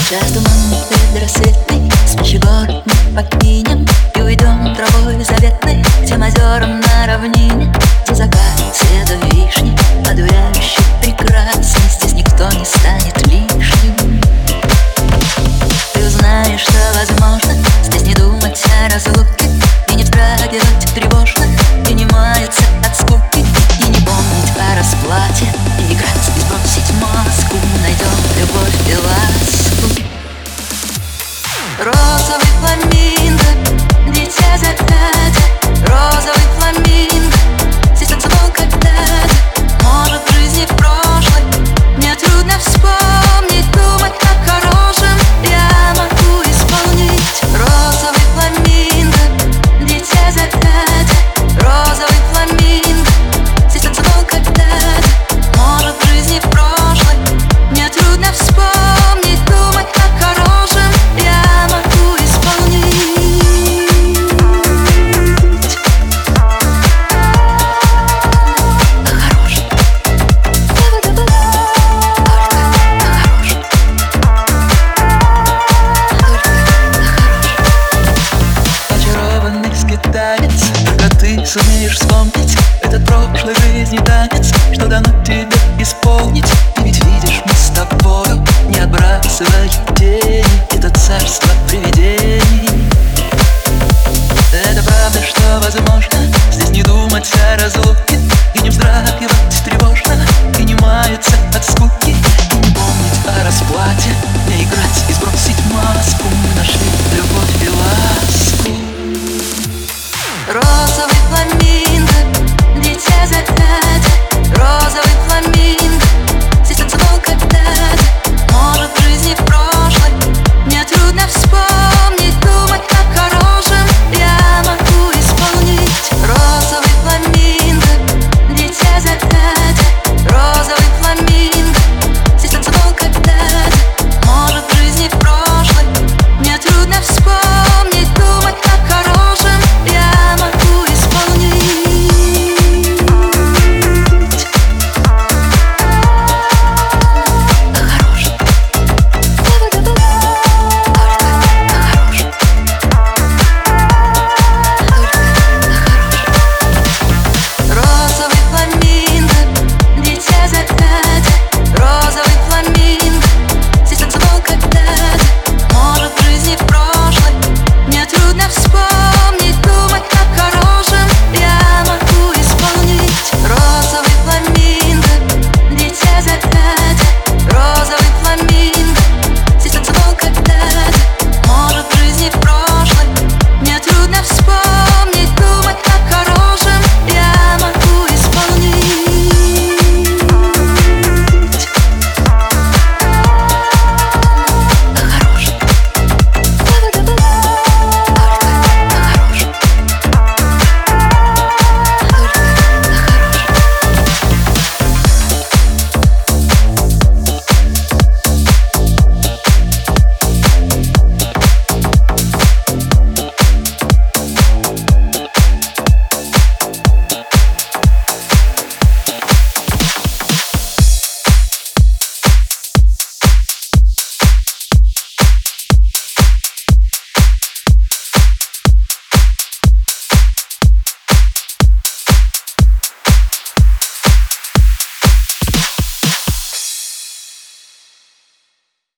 Сейчас туман предрассветный, спящий город мы покинем и уйдем травой заветной к тем озерам на равнине, где закат цвета вишни, одуряющий прекрасный. Здесь никто не станет лишним. Ты узнаешь, что возможно здесь не думать о разлуке и не вздрагивать тревожно, и не маяться от скуки, и не помнить о расплате, и играть и сбросить маску. Найдем любовь и ласку. Розовый фламинго, дитя заката. Розовый фламинго, здесь танцевал когда-то. Может, в жизни прошлой мне трудно вспомнить, думать о хорошем я могу исполнить. Розовый фламинго, дитя заката. Розовый фламинго, здесь танцевал когда-то. Может, в жизни прошлой мне трудно вспомнить, думать о хорошем я могу исполнить. О хорошем, только о хорошем, очарованный скиталец, только ты сумеешь вспомнить этот прошлой жизни танец, что дано тебе исполнить. И ведь видишь, мы с тобою не отбрасываем